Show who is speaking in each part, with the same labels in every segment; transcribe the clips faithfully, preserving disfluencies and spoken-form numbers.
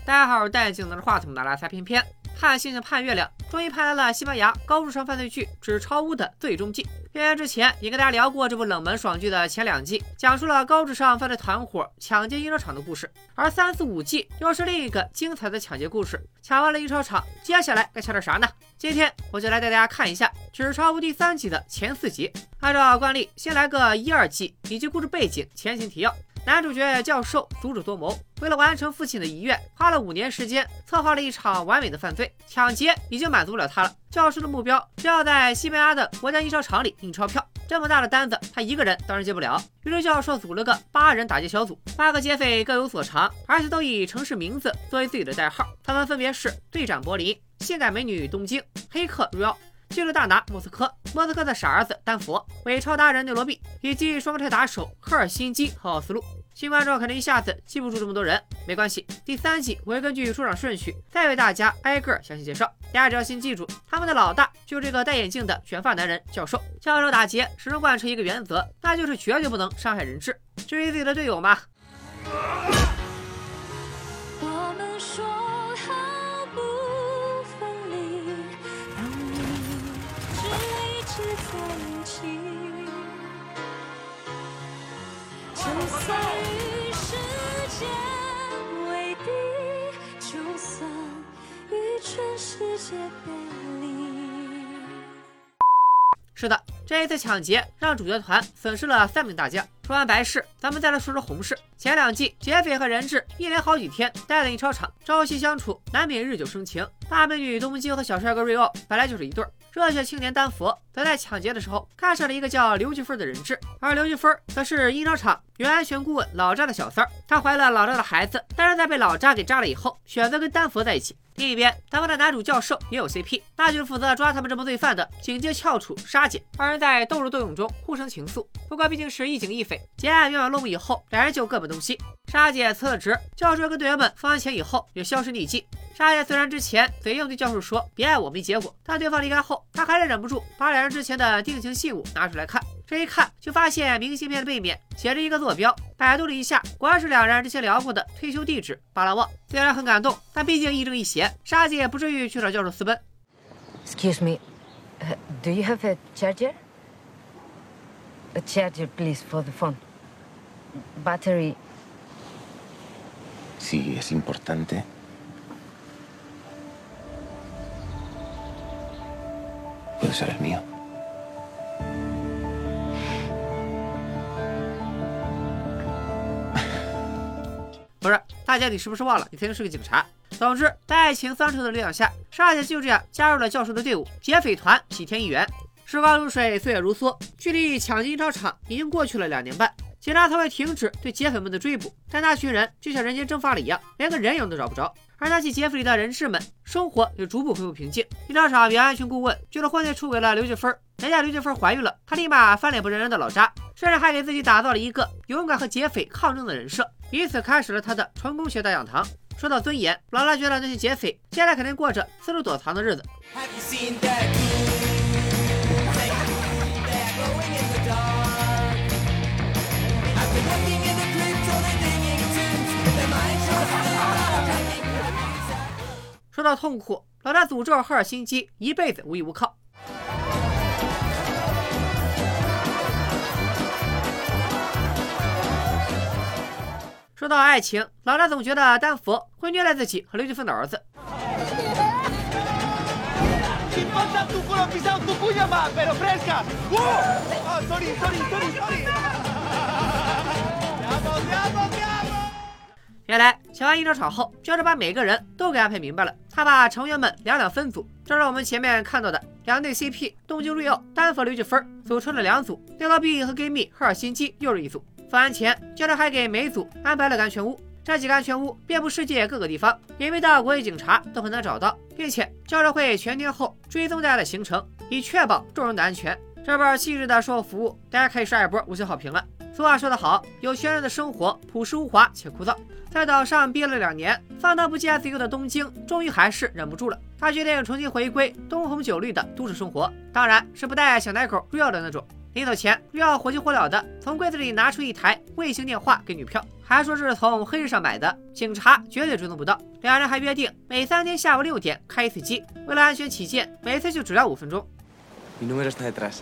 Speaker 1: 戴好戴镜拿着话筒的拉萨翩翩，盼星星盼月亮，终于盼来了西班牙高智商犯罪剧《纸钞屋》的最终季。片源之前也跟大家聊过这部冷门爽剧的前两季，讲述了高智商犯罪团伙抢劫印钞厂的故事，而三四五季又是另一个精彩的抢劫故事。抢完了印钞厂，接下来该抢点啥呢？今天我就来带大家看一下《纸钞屋》第三季的前四集。按照惯例，先来个一二季以及故事背景、前情提要。男主角教授足智多谋，为了完成父亲的遗愿，花了五年时间策划了一场完美的犯罪。抢劫已经满足不了他了，教授的目标是要在西班牙的国家印钞厂里印钞票。这么大的单子，他一个人当然接不了。于是教授组了个八人打劫小组，八个劫匪各有所长，而且都以城市名字作为自己的代号。他们分别是队长柏林、性感美女东京、黑客瑞奥、纪律大拿莫斯科、莫斯科的傻儿子丹佛、伪钞达人内罗毕，以及双胞胎打手赫尔辛基和奥斯陆。新观众可能一下子记不住这么多人，没关系，第三季我会根据出场顺序再为大家挨个详细介绍。大家只要先记住，他们的老大就是这个戴眼镜的卷发男人教授。教授打劫始终贯彻一个原则，那就是绝对不能伤害人质。至于自己的队友嘛，
Speaker 2: 我们说好不分离，让你只一直在一起，就算与世界为敌，就算与全世界背离。
Speaker 1: 是的，这一次抢劫让主角团损失了三名大将。说完白事，咱们再来说说红事。前两季劫匪和人质一连好几天待在印钞厂，朝夕相处，难免日久生情。大美女东京和小帅哥瑞奥本来就是一对儿，热血青年丹佛则在抢劫的时候看上了一个叫刘菊芬的人质，而刘菊芬则是印钞厂原安全顾问老扎的小三儿。她怀了老扎的孩子，但是在被老扎给扎了以后，选择跟丹佛在一起。另一边，丹佛的男主教授也有 C P， 那就是负责抓他们这帮罪犯的警界翘楚沙姐。二人在斗智斗勇中互生情愫，不过毕竟是一警一匪，劫案圆满落幕以后，两人就各奔东西。沙姐辞了职，教授跟队员们分完钱以后也销声匿迹。沙姐虽然之前嘴硬对教授说别爱我没结果，但对方离开后，他还是忍不住把两人之前的定情信物拿出来看。这一看就发现明信片的背面写着一个坐标，百度了一下，果然是两人之前聊过的退休地址巴拉望。虽然很感动，但毕竟亦正亦邪，沙姐也不至于去找教授私奔。
Speaker 3: Excuse me, uh, do you have a charger? A charger, please, for the phone. Battery.
Speaker 4: Si es importante. Puede ser el mío.
Speaker 1: 不是，大家你是不是忘了你曾经是个警察？总之，在爱情桑愁的力量下，沙姐就这样加入了教授的队伍，劫匪团喜添一员。时光如水，岁月如梭，距离抢劫印钞厂已经过去了两年半，警察才会停止对劫匪们的追捕，但那群人就像人间蒸发了一样，连个人影都找不着。而那些劫匪里的人质们，生活也逐步恢复平静。印钞厂原安全顾问觉得婚内出轨了刘菊芬，人家刘菊芬怀孕了，他立马翻脸不认人的老扎，甚至还给自己打造了一个勇敢和劫匪抗争的人设，以此开始了他的成功学大讲堂。说到尊严，老拉觉得那些劫匪现在肯定过着四处躲藏的日子。说到痛苦，老大诅咒赫尔辛基一辈子无依无靠。说到爱情，老大总觉得丹佛会虐待自己和刘菊芬的儿子。原来抢完印钞厂后，教授把每个人都给安排明白了。他把成员们两两分组，正是我们前面看到的两对 C P 东京瑞奥、丹佛刘菊芬组成了两组，内罗毕和 gay 蜜赫尔辛基又是一组。分完钱，教授还给每组安排了个安全屋，这几个安全屋遍布世界各个地方，隐秘的国际警察都很难找到，并且教授会全天候追踪大家的行程，以确保众人的安全。这本细致的售后服务，大家可以刷一波五星好评了。俗话说得好，有钱人的生活朴实无华且枯燥。在岛上憋了两年，放荡不羁爱自由的东京，终于还是忍不住了。他决定重新回归灯红酒绿的都市生活，当然是不带小奶狗 real 的那种。 临走前，瑞奥火急火燎的从柜子里拿出一台卫星电话给女票，还说这是从黑市上买的，警察绝对追踪不到。两人还约定每三天下午六点开一次机，为了安全起见，每次就只要五分钟。
Speaker 5: Mi número está detrás。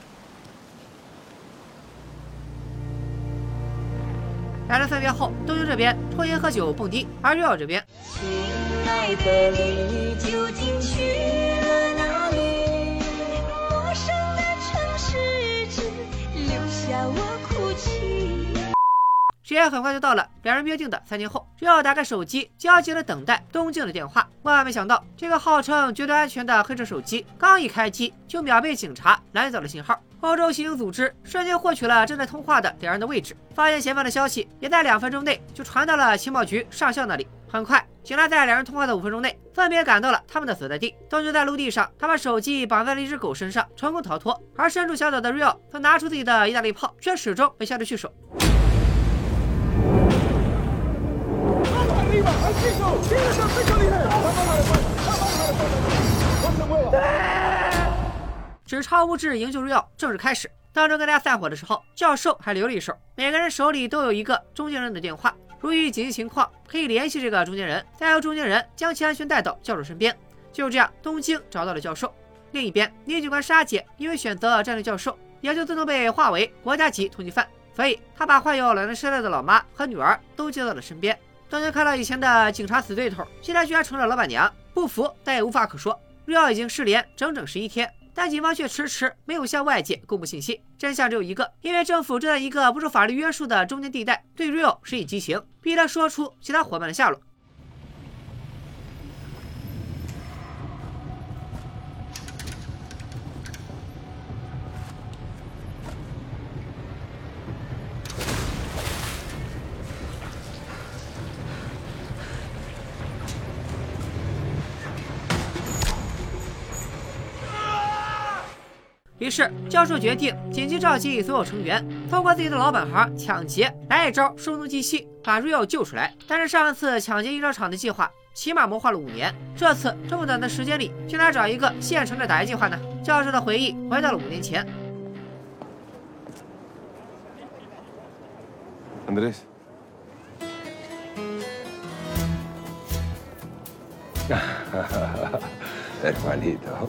Speaker 1: 两人分别后，东京这边抽烟喝酒蹦迪，而瑞奥这边，
Speaker 2: 亲爱的你究竟去了哪里？陌生的城市只留下我哭泣。
Speaker 1: 时间很快就到了两人约定的三天后，瑞奥打开手机，焦急的等待东京的电话。万万没想到，这个号称绝对安全的黑车手机刚一开机，就秒被警察拦走了信号。欧洲刑警组织瞬间获取了正在通话的两人的位置，发现嫌犯的消息也在两分钟内就传到了情报局上校那里。很快，警察在两人通话的五分钟内，分别赶到了他们的所在地。东京在陆地上，他把手机绑在了一只狗身上，成功逃脱。而身处小岛的瑞奥则拿出自己的意大利炮，却始终被下得去手。纸钞物质营救瑞奥正式开始。当中跟大家散伙的时候，教授还留了一手，每个人手里都有一个中间人的电话，如遇紧急情况可以联系这个中间人，再由中间人将其安全带到教授身边。就这样，东京找到了教授。另一边，女警官沙姐因为选择战略教授，也就自动被划为国家级通缉犯，所以她把患有老年痴呆的老妈和女儿都接到了身边。东京看到以前的警察死对头，现在居然成了老板娘，不服但也无话可说。瑞奥已经失联整整十一天，但警方却迟迟没有向外界公布信息。真相只有一个，因为政府正在一个不受法律约束的中间地带对瑞奥施以极刑，逼他说出其他伙伴的下落。于是，教授决定紧急召集所有成员，通过自己的老本行抢劫来一招声东击西，把瑞奥救出来。但是上一次抢劫印章厂的计划起码谋划了五年，这次这么短的时间里，去哪找一个现成的打劫计划呢？教授的回忆回到了五年前。
Speaker 4: Andrés. Hermanito.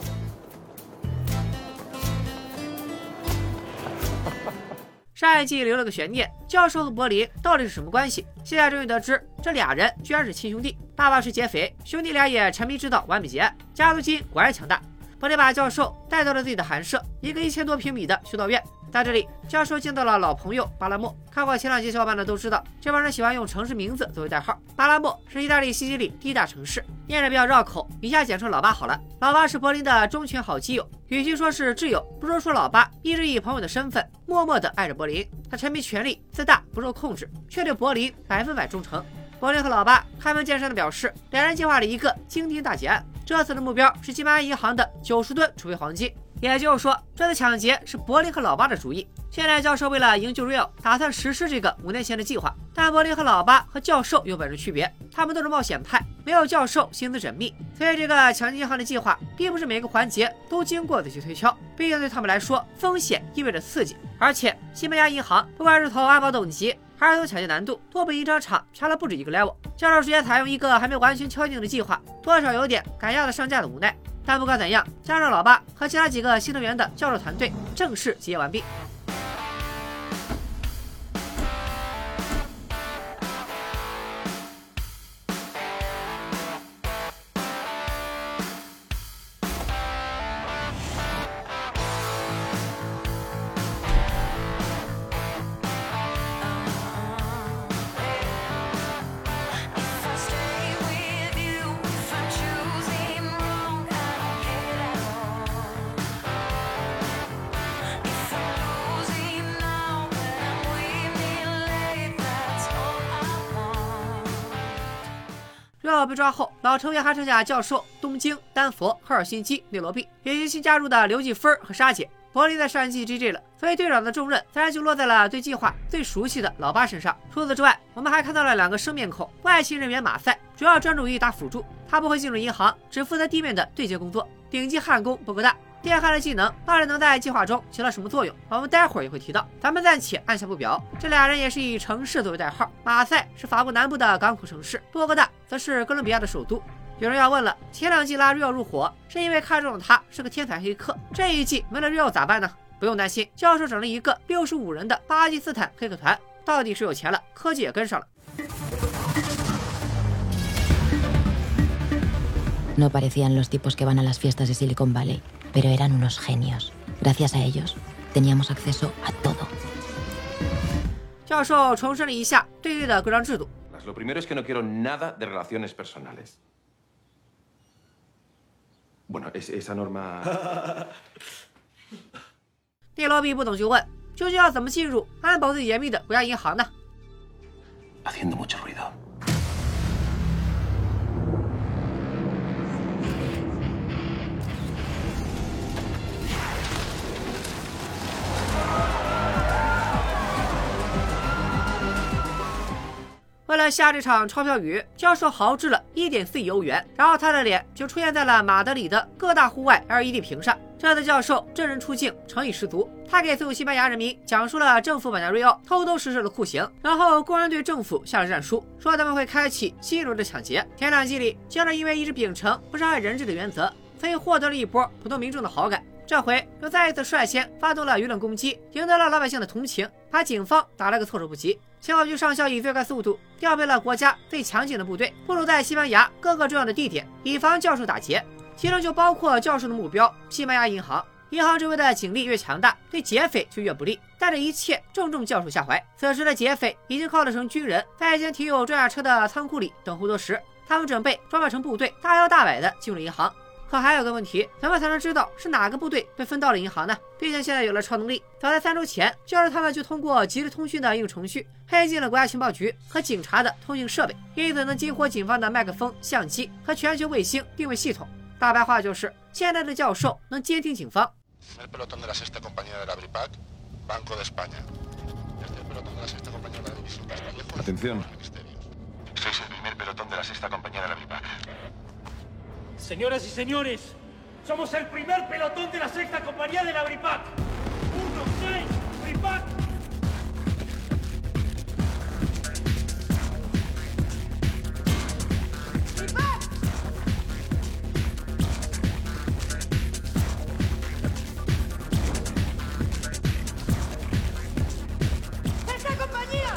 Speaker 1: 上一季留了个悬念，教授和柏林到底是什么关系？现在终于得知，这俩人居然是亲兄弟。爸爸是劫匪，兄弟俩也沉迷知道完美劫案，家族基因果然强大。柏林把教授带到了自己的寒舍，一个一千多平米的修道院。在这里，教授见到了老朋友巴拉莫。看过前两集小伙伴的都知道，这帮人喜欢用城市名字作为代号。巴拉莫是意大利西西里第一大城市，念着比较绕口，以下简称老巴好了。老巴是柏林的忠犬好基友，与其说是挚友，不如说老巴一直以朋友的身份默默地爱着柏林。他沉迷权力，自大不受控制，却对柏林百分百忠诚。柏林和老巴开门见山地表示，两人计划了一个惊天大劫案，这次的目标是金巴银行的九十吨储备黄金。也就是说，这次抢劫是柏林和老巴的主意。现在教授为了营救瑞奥，打算实施这个五年前的计划。但柏林和老巴和教授有本质区别，他们都是冒险派，没有教授心思缜密，所以这个抢劫银行的计划并不是每个环节都经过仔细推敲。毕竟对他们来说，风险意味着刺激。而且西班牙银行不管是从安保等级，还是从抢劫难度，都比印章厂强了不止一个 level。教授直接采用一个还没完全敲定的计划，多少有点赶鸭子上架的无奈。但不管怎样，加上老巴和其他几个新成员的教授团队正式集结完毕。瑞奥被抓后，老成员还剩下教授、东京、丹佛、赫尔辛基、内罗毕，以及新加入的刘继芬和沙姐。柏林在上一季 G G 了，所以队长的重任自然就落在了对计划最熟悉的老巴身上。除此之外，我们还看到了两个生面孔，外勤人员马赛主要专注于打辅助，他不会进入银行，只负责地面的对接工作。顶级焊工博格大电焊的技能到底能在计划中起到什么作用，我们待会儿也会提到，咱们暂且按下不表。这俩人也是以城市作为代号，马赛是法国南部的港口城市，波哥大则是哥伦比亚的首都。有人要问了，前两季拉瑞奥入伙是因为看中了他是个天才黑客，这一季没了瑞奥咋办呢？不用担心，教授整了一个六十五人的巴基斯坦黑客团，到底是有钱了，科技也跟上了。
Speaker 5: No parecían los tipos que van a las fiestas de Silicon Valley, pero eran unos genios. Gracias a ellos, teníamos acceso a todo.
Speaker 1: 教授重申了一下队队的规章制度。
Speaker 6: Lo primero es que no quiero nada de relaciones personales. Bueno, es, esa norma...
Speaker 1: 内罗毕不懂就问，究竟要怎么进入安保最严密的国家银行呢？
Speaker 6: Haciendo mucho ruido. 为了下这场钞票雨，教授豪掷了 一点四亿欧元，然后他的脸就出现在了马德里的各大户外 L E D 屏上。这次教授真人出镜，诚意十足。他给所有西班牙人民讲述了政府绑架瑞奥偷偷实施的酷刑，然后公然对政府下了战书，说他们会开启新一轮的抢劫。前两季里，教授因为一直秉承不伤害人质的原则，所以获得了一波普通民众的好感。 这回又再一次率先发动了舆论攻击，赢得了老百姓的同情，把警方打了个措手不及。情报局上校以最快速度调配了国家最强劲的部队，部署在西班牙各个重要的地点，以防教授打劫。其中就包括教授的目标——西班牙银行。银行周围的警力越强大，对劫匪就越不利。但这一切正中教授下怀。此时的劫匪已经靠得成军人，在一间停有装甲车的仓库里等候多时。他们准备装扮成部队，大摇大摆地进入银行。 可还有个问题，怎么才能知道是哪个部队被分到了银行呢？毕竟现在有了超能力。早在三周前，教授他们就通过即时通讯的应用程序黑进了国家情报局和警察的通讯设备，因此能激活警方的麦克风、相机和全球卫星定位系统。大白话就是，现在的教授能监听警方。 Atención.
Speaker 7: Señoras y señores, somos el primer pelotón de la sexta compañía de la BRIPAC. Uno, seis, BRIPAC.
Speaker 2: ¡Sexta compañía!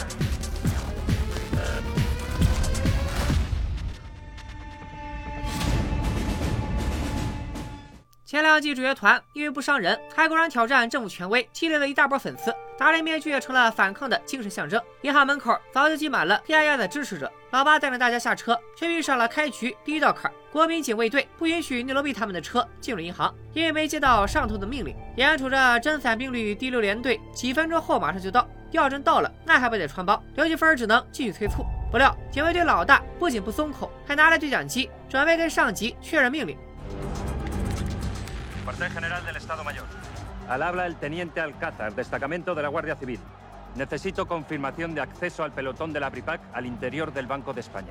Speaker 1: 前两季主角团因为不伤人，还公然挑战政府权威，积累了一大波粉丝。达人面具也成了反抗的精神象征。银行门口早就挤满了黑压压的支持者。老八带着大家下车，却遇上了开局第一道坎：国民警卫队不允许内罗毕他们的车进入银行，因为没接到上头的命令。眼瞅着真伞兵旅第六联队几分钟后马上就到，要真到了，那还不得穿帮？刘继芬只能继续催促。不料警卫队老大不仅不松口，还拿来对讲机，准备跟上级确认命令。
Speaker 8: Cuartel General del Estado Mayor.
Speaker 9: Al habla el teniente Alcázar, destacamento de la Guardia Civil. Necesito confirmación de acceso al pelotón de la BRIPAC al interior del Banco de España.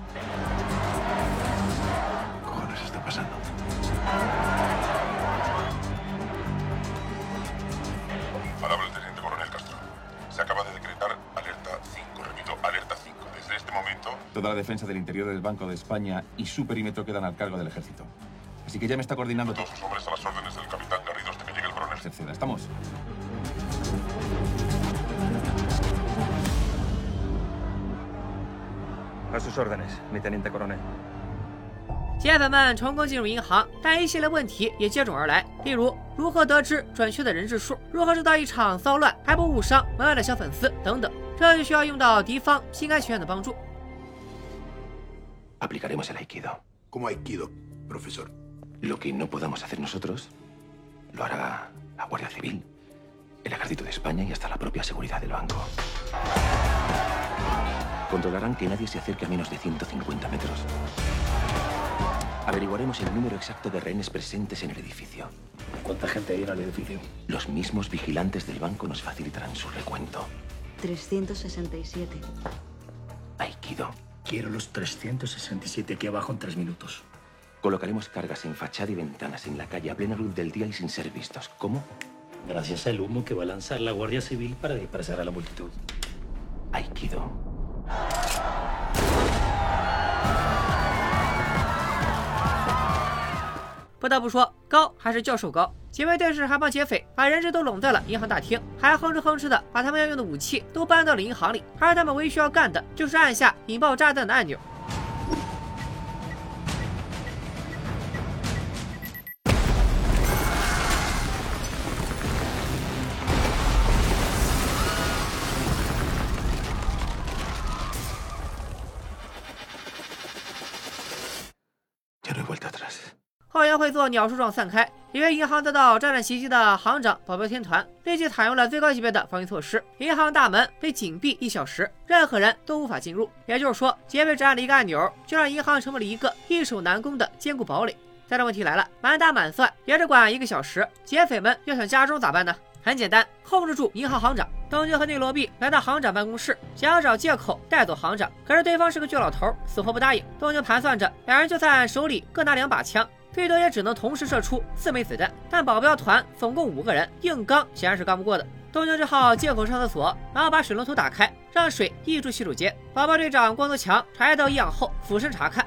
Speaker 6: ¿Qué cojones está pasando?
Speaker 10: Al habla el teniente coronel Castro. Se acaba de decretar alerta cinco, repito, alerta cinco. Desde este momento...
Speaker 6: Toda la defensa del interior del Banco de España y su perímetro quedan al cargo del ejército. Así que ya me está coordinando
Speaker 10: todos sus hombres a las órdenes del capitán Garrido hasta que llegue el coronel.
Speaker 6: Cerceda, ¿estamos?
Speaker 9: A sus órdenes, mi teniente coronel.
Speaker 1: 劫匪们成功进入银行，但一系列问题也接踵而来，例如如何得知准确的人质数，如何制造一场骚乱还不误伤门外的小粉丝等等，这就需要用到敌方心甘情愿的帮助。
Speaker 6: Aplicaremos el aikido.
Speaker 10: ¿Cómo aikido, profesor?
Speaker 6: Lo que no podamos hacer nosotros, lo hará la Guardia Civil, el Ejército de España y hasta la propia seguridad del banco. Controlarán que nadie se acerque a menos de ciento cincuenta metros. Averiguaremos el número exacto de rehenes presentes en el edificio.
Speaker 7: ¿Cuánta gente hay en el edificio?
Speaker 6: Los mismos vigilantes del banco nos facilitarán su recuento.
Speaker 11: trescientos sesenta y siete.
Speaker 6: Aikido.
Speaker 7: Quiero los trescientos sesenta y siete aquí abajo en tres minutos.
Speaker 8: Colocaremos cargas en fachada y ventanas en la calle a plena luz del día y sin ser vistos. ¿Cómo?
Speaker 7: Gracias al humo que va a lanzar la Guardia Civil para dispersar a la multitud.
Speaker 8: Aikido.
Speaker 6: 不得不说，高还是教授高。几位对视还帮劫匪把人质都拢在了银行大厅，还哼哧哼哧的把他们要用的武器都搬到了银行里，而他们唯一需要干的就是按下引爆炸弹的按钮。 后援会做鸟树状散开，以为银行遭到炸弹袭击的行长保镖天团立即采用了最高级别的防御措施，银行大门被紧闭一小时，任何人都无法进入。也就是说，劫匪只按了一个按钮，就让银行成为了一个易守难攻的坚固堡垒。但这问题来了，满打满算也只管一个小时，劫匪们要想加钟咋办呢？很简单，控制住银行行长。东京和内罗毕来到行长办公室，想要找借口带走行长，可是对方是个倔老头，死活不答应。东京盘算着，两人就算手里各拿两把枪， 最多也只能同时射出四枚子弹，但保镖团总共五个人，硬刚显然是刚不过的。东京只好借口上厕所，然后把水龙头打开，让水溢出洗手间。保镖队长光头强察觉到异样后，俯身查看。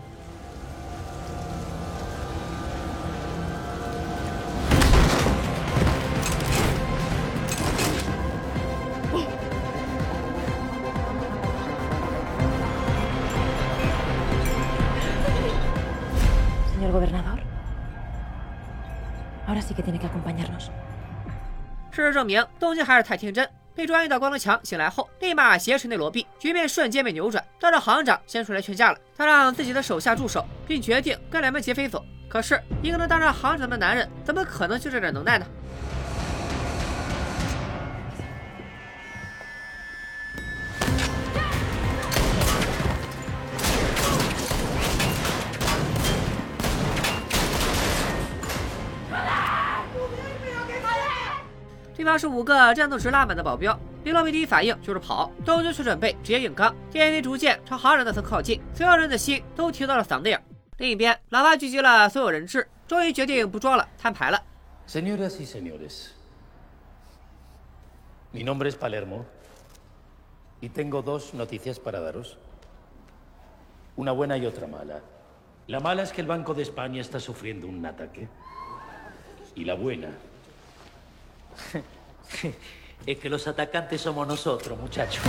Speaker 5: Señor gobernador, ahora sí que tiene que acompañarnos.
Speaker 6: 事实证明，东京还是太天真。被专业的光头强醒来后，立马挟持内罗毕，局面瞬间被扭转。倒是行长先出来劝架了，他让自己的手下住手，并决定跟两名劫匪走。可是，一个能当上行长的男人，怎么可能就这点能耐呢？ 对方是五个战斗值拉满的保镖，内罗毕第一反应就是跑，东京却准备直接硬刚。电梯逐渐朝行长那层靠近，所有人的心都提到了嗓子眼。另一边，老八聚集了所有人质，终于决定不装了，摊牌了。
Speaker 7: Señoras y señores, mi nombre es Palermo y tengo dos noticias para daros. Una buena y otra mala. La mala es que el Banco de España está sufriendo un ataque. Y la buena es que los atacantes somos nosotros, muchachos.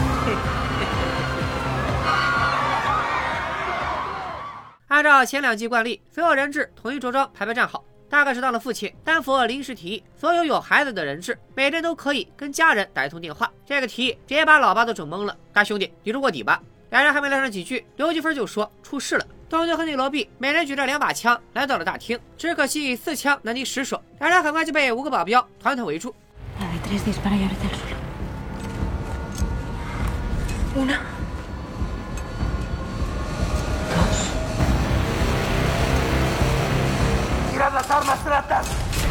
Speaker 6: 按照前两季惯例，所有人质统一着装，排排站好。大概是当了父亲，丹佛临时提议，所有有孩子的人质，每人都可以跟家人打一通电话。这个提议直接把老八都整懵了。大兄弟，你入过底吧？两人还没聊上几句，刘积分就说出事了。东京和内罗毕每人举着两把枪来到了大厅，只可惜四枪难敌十手，两人很快就被五个保镖团团围住。
Speaker 5: La de tres dispara y ahorita el suelo. Una. Dos.
Speaker 7: ¡Tirad las armas, ratas!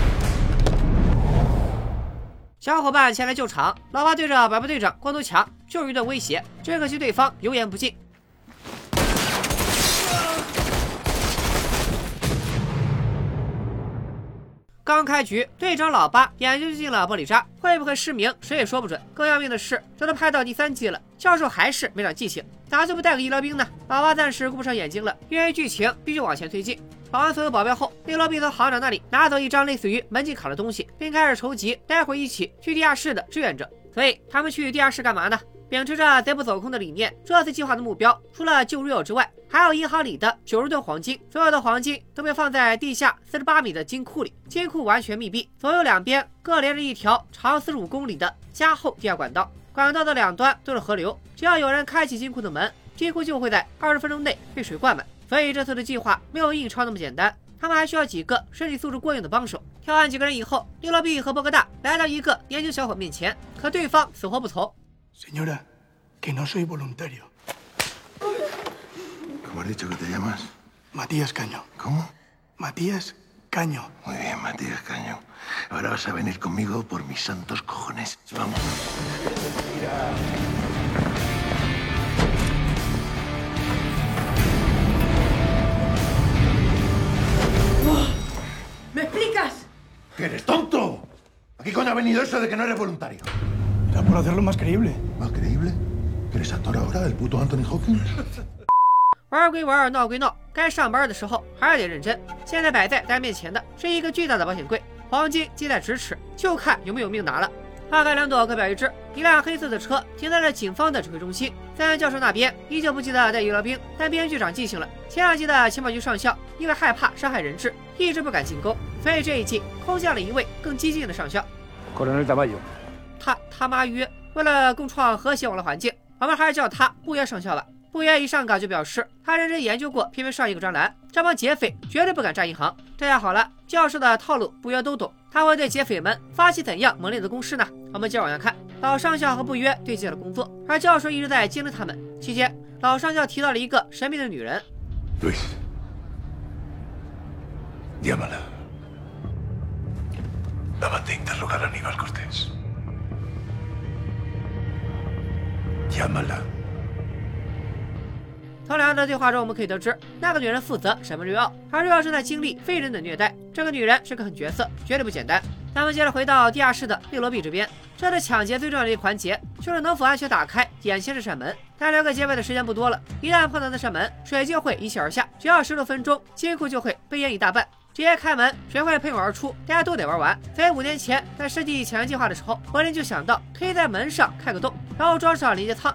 Speaker 6: 小伙伴前来救场，老八对着保镖队长光头强就是一顿威胁，只可惜对方油盐不进。 刚开局，队长老八眼睛就进了玻璃渣，会不会失明，谁也说不准。更要命的是，这都拍到第三季了，教授还是没长记性，咋就不带个医疗兵呢？老八暂时顾不上眼睛了，因为剧情必须往前推进。保完所有保镖后，内罗毕从行长那里拿走一张类似于门禁卡的东西，并开始筹集待会一起去地下室的志愿者。所以他们去地下室干嘛呢？ 秉持着贼不走空的理念，这次计划的目标除了救 Rio 之外，还有银行里的九十吨黄金。所有的黄金都被放在地下四十八米的金库里，金库完全密闭，左右两边各连着一条长四十五公里的加厚地下管道，管道的两端都是河流。只要有人开启金库的门，金库就会在二十分钟内被水灌满。所以这次的计划没有印钞那么简单，他们还需要几个身体素质过硬的帮手。挑完几个人以后，内罗毕和波哥大来到一个年轻小伙面前，可对方死活不从。
Speaker 12: Señora, que no soy voluntario.
Speaker 10: ¿Cómo has dicho que te llamas?
Speaker 12: Matías Caño.
Speaker 10: ¿Cómo?
Speaker 12: Matías Caño.
Speaker 10: Muy bien, Matías Caño. Ahora vas a venir conmigo por mis santos cojones. Vamos. Mira.
Speaker 13: ha venido eso de que no eres voluntario?
Speaker 12: Era por hacerlo más creíble.
Speaker 13: ¿Más creíble? ¿Que eres actor ahora, el puto Anthony Hopkins?
Speaker 1: 玩归玩，闹归闹，该上班的时候还是得认真。现在摆在大家面前的是一个巨大的保险柜，黄金系在咫尺，就看有没有命拿了。花开两朵，各表一枝。一辆黑色的车停在了警方的指挥中心。三教授那边依旧不记得带医疗兵，但编剧长记性了。前两季的情报局上校因为害怕伤害人质，一直不敢进沟，所以这一季空降了一位更激进的上校。
Speaker 14: Coronel Tamayo。
Speaker 1: 他他妈约，为了共创和谐网络环境，我们还是叫他不约上校吧。不约一上岗就表示他认真研究过偏偏上一个专栏，这帮劫匪绝对不敢炸银行。这下好了，教授的套路不约都懂，他会对劫匪们发起怎样猛烈的攻势呢？我们接着往下看，老上校和不约对接了工作，而教授一直在监督他们。期间，老上校提到了一个神秘的女人。
Speaker 13: Luis, llámala. La mandé interrogar a Aníbal Cortés. Llámala.
Speaker 1: 从两人的对话中，我们可以得知，那个女人负责审问瑞奥，而瑞奥正在经历非人的虐待。这个女人是个狠角色，绝对不简单。咱们接着回到地下室的内罗毕这边，这次抢劫最重要的一环节就是能否安全打开眼前这扇门。但留给劫匪的时间不多了，一旦碰到那扇门，水就会一气而下，只要十六分钟，金库就会被淹一大半。直接开门，水会喷涌而出，大家都得玩完。所以五年前在世纪抢劫计划的时候，柏林就想到可以在门上开个洞，然后装上连接舱。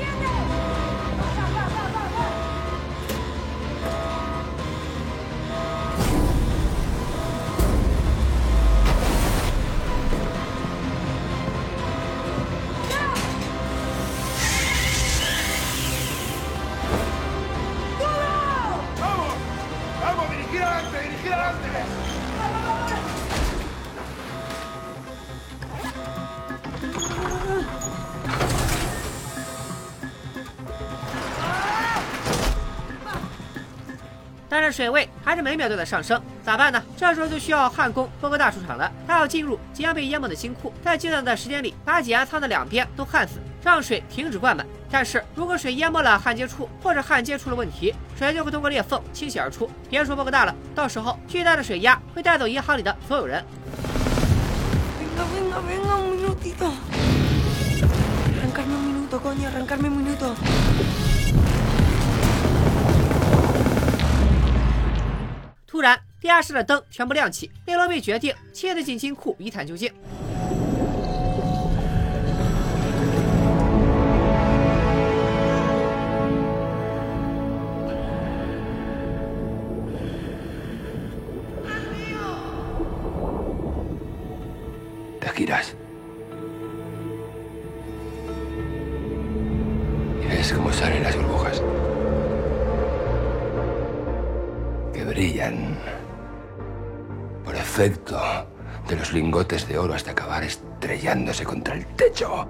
Speaker 1: 但是水位还是每秒都在上升，咋办呢？这时候就需要焊工波哥大出场了。他要进入即将被淹没的金库，在极短的时间里把挤压舱的两边都焊死，让水停止灌满。但是如果水淹没了焊接处，或者焊接出了问题，水就会通过裂缝倾泻而出。别说波哥大了，到时候巨大的水压会带走银行里的所有人。
Speaker 2: Venga, venga, venga, un minutito. Arrancarme un minuto, coño, arrancarme un minuto.
Speaker 1: 突然，地下室的灯全部亮起，内罗毕决定亲自进金库一探究竟。
Speaker 8: Te giras. Y ves cómo salen las burbujas. Que brillan por efecto de los lingotes de oro hasta acabar estrellándose contra el techo.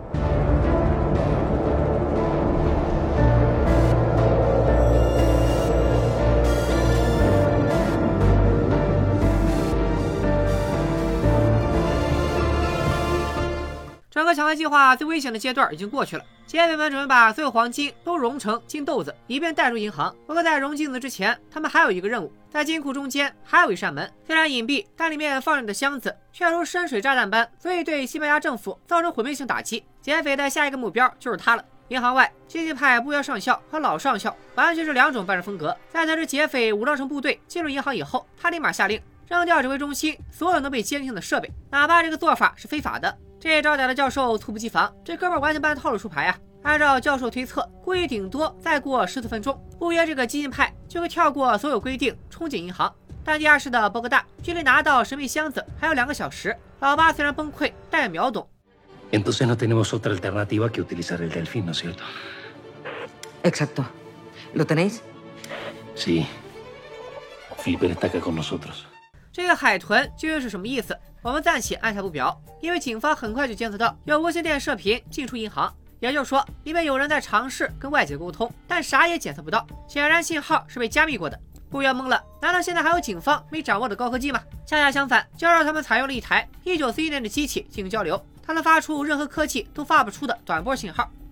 Speaker 1: 整个抢劫计划最危险的阶段已经过去了，劫匪们准备把所有黄金都融成金豆子，以便带入银行。不过在融金子之前，他们还有一个任务，在金库中间还有一扇门，虽然隐蔽，但里面放着的箱子却如深水炸弹般，所以对西班牙政府造成毁灭性打击。劫匪的下一个目标就是他了。银行外，激进派不约上校和老上校完全是两种办事风格。在得知劫匪武装成部队进入银行以后，他立马下令扔掉指挥中心所有能被监听的设备，哪怕这个做法是非法的。这招歹的教授猝不及防，这哥们完全搬套路出牌啊！按照教授推测，估计顶多再过十四分钟，不约这个激进派就会跳过所有规定冲进银行。但地下室的波哥大距离拿到神秘箱子还有两个小时。老八虽然崩溃，但也秒懂。
Speaker 7: Entonces no tenemos otra alternativa que utilizar el delfín, ¿no es cierto?
Speaker 3: Exacto. ¿Lo tenéis?
Speaker 7: Sí. Flipper está acá con nosotros.
Speaker 1: 这个海豚究竟是什么意思？我们暂且按下不表，因为警方很快就监测到有无线电射频进出银行，也就是说，里面有人在尝试跟外界沟通，但啥也检测不到，显然信号是被加密过的。不约懵了，难道现在还有警方没掌握的高科技吗？恰恰相反，就让他们采用了一台一九四一年的机器进行交流，它能发出任何科技都发不出的短波信号。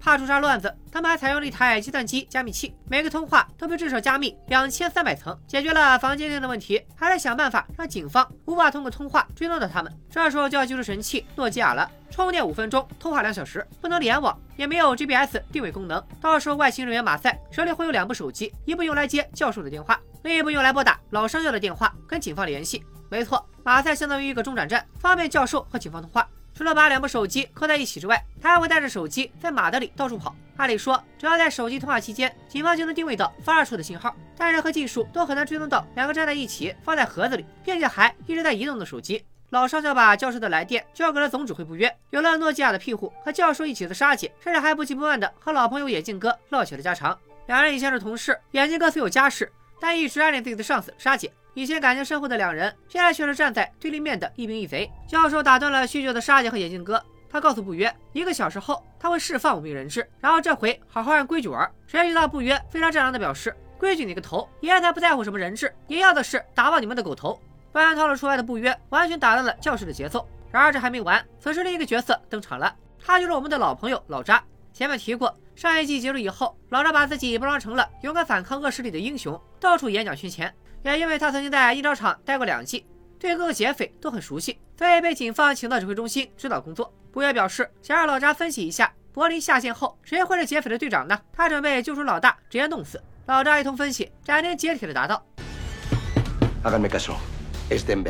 Speaker 6: 怕出啥乱子，他们还采用了一台计算机加密器，每个通话都被至少加密两千三百层，解决了防监听的问题，还得想办法让警方无法通过通话追踪到他们。这时候就要救出神器诺基亚了，充电五分钟，通话两小时，不能联网，也没有 G P S 定位功能。到时候外星人员马赛手里会有两部手机，一部用来接教授的电话，另一部用来拨打老上校的电话，跟警方联系。没错，马赛相当于一个中转站，方便教授和警方通话。除了把两部手机扣在一起之外，他还会带着手机在马德里到处跑。按理说，只要在手机通话期间，警方就能定位到发射出的信号，但任何技术都很难追踪到两个站在一起放在盒子里，并且还一直在移动的手机。老上校把教授的来电交给了总指挥部约，有了诺基亚的庇护，和教授一起的沙姐，甚至还不急不慢的和老朋友眼镜哥唠起了家常。两人以前是同事，眼镜哥虽有家室，但一直暗恋自己的上司沙姐。以前感情深厚的两人，现在却是站在对立面的一兵一贼。教授打断了叙旧的沙姐和眼镜哥，他告诉不约，一个小时后他会释放五名人质，然后这回好好按规矩玩。谁知道不约非常战狼的表示，规矩你个头，爷才不在乎什么人质，爷要的是打爆你们的狗头。不然套路出来的不约完全打乱了教室的节奏。然而这还没完，此时另一个角色登场了，他就是我们的老朋友老扎。前面提过，上一季结束以后，老扎把自己包装成了勇敢反抗恶势力的英雄，到处演讲圈钱。也因为他曾经在印钞厂待过两季，对各个劫匪都很熟悉，所以被警方请到指挥中心指导工作。不约表示想让老扎分析一下柏林下线后谁会是劫匪的队长呢？他准备救出老大，直接弄死。老扎一通分析，斩钉截铁的答道
Speaker 8: Háganme caso, es Denver.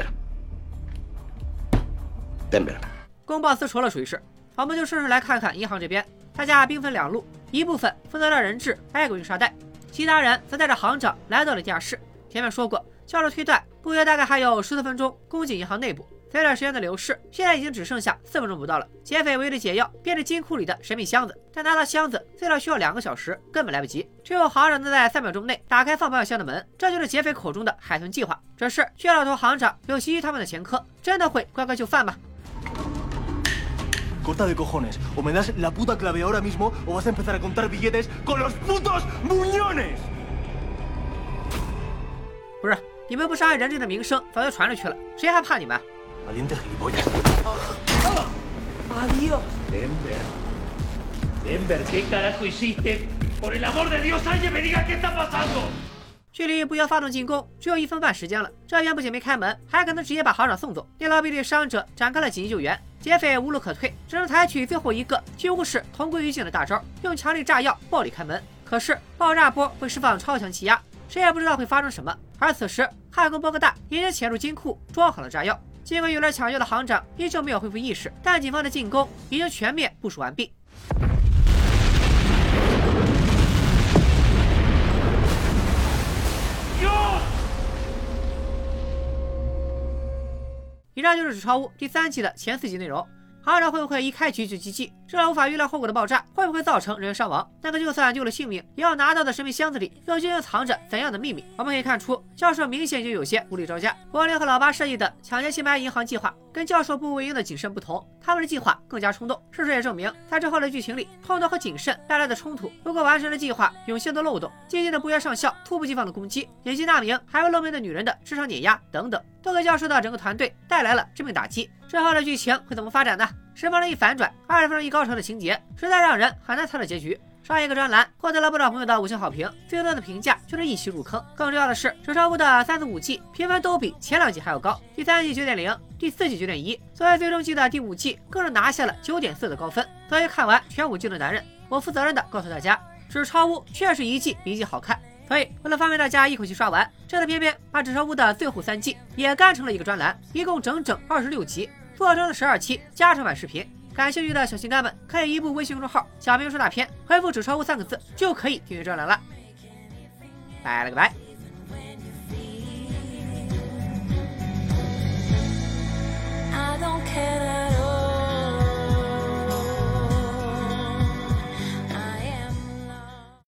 Speaker 8: Denver.
Speaker 6: 公报私仇了，属于是。我们就顺势来看看银行这边，大家兵分两路，一部分负责让人质挨个运沙袋，其他人则带着行长来到了地下室。前面说过，教授推断不约大概还有十四分钟攻进银行内部。随着时间的流逝，现在已经只剩下四分钟不到了。劫匪为了解药，变着金库里的神秘箱子，但拿到箱子最少需要两个小时，根本来不及。只有行长能在三秒钟内打开放保险箱的门，这就是劫匪口中的海豚计划。只是血老头行长有袭击他们的前科，真的会乖乖就范吗
Speaker 14: ？Corta de cojones, o me das la puta clave ahora mismo, o vas a empezar a contar billetes con los putos muñones.
Speaker 6: 不是，你们不伤害人质的名声早就传出去了，谁还怕你们
Speaker 14: ？Valiente gilipollas.
Speaker 7: Adiós. Denver. Denver, ¿qué carajo hiciste? Por el amor de Dios, alguien me diga qué está pasando.
Speaker 6: 距离不约发动进攻只有一分半时间了，这边不仅没开门，还可能直接把行长送走。电牢壁对伤者展开了紧急救援，劫匪无路可退，只能采取最后一个几乎是同归于尽的大招，用强力炸药暴力开门。可是爆炸波会释放超强气压，谁也不知道会发生什么。而此时汉宫波哥大已经潜入金库装好了炸药，尽管有了抢救的行长依旧没有恢复意识，但警方的进攻已经全面部署完毕。以上就是《纸钞屋》第三季的前四集内容。行长会不会一开局就击毙？这无法预料后果的爆炸会不会造成人员伤亡？那个就算救了性命，也要拿到的神秘箱子里又究竟藏着怎样的秘密？我们可以看出，教授明显就有些无力招架。柏林和老八设计的抢劫西班牙银行计划，跟教授步步为营的谨慎不同，他们的计划更加冲动。事实也证明，在之后的剧情里，冲动和谨慎带来的冲突，如果完成了计划涌现的漏洞，激进的不约上校猝不及防的攻击，以及那名还未露面的女人的智商碾压等等，都给教授的整个团队带来了致命打击。之后的剧情会怎么发展呢？十分钟一反转，二十分钟一高潮的情节，实在让人很难猜到结局。上一个专栏获得了不少朋友的五星好评，最多的评价就是一起入坑。更重要的是，《纸钞屋》的三四五季评分都比前两季还要高，第三季九点零，第四季九点一，作为最终季的第五季更是拿下了九点四的高分。作为看完全五季的男人，我负责任的告诉大家，《纸钞屋》确实一季比一季好看。所以为了方便大家一口气刷完，这次偏偏把《纸钞屋》的最后三季也干成了一个专栏，一共整整二十六集，做成了十二期加长版视频。感兴趣的小心肝们可以移步微信公众号小明说大片，回复纸钞屋三个字就可以订阅专栏了。拜了个拜。